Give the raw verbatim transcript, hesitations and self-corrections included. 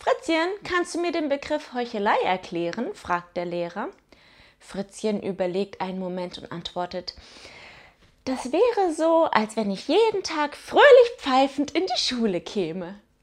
Fritzchen, kannst du mir den Begriff Heuchelei erklären? fragt der Lehrer. Fritzchen überlegt einen Moment und antwortet: Das wäre so, als wenn ich jeden Tag fröhlich pfeifend in die Schule käme.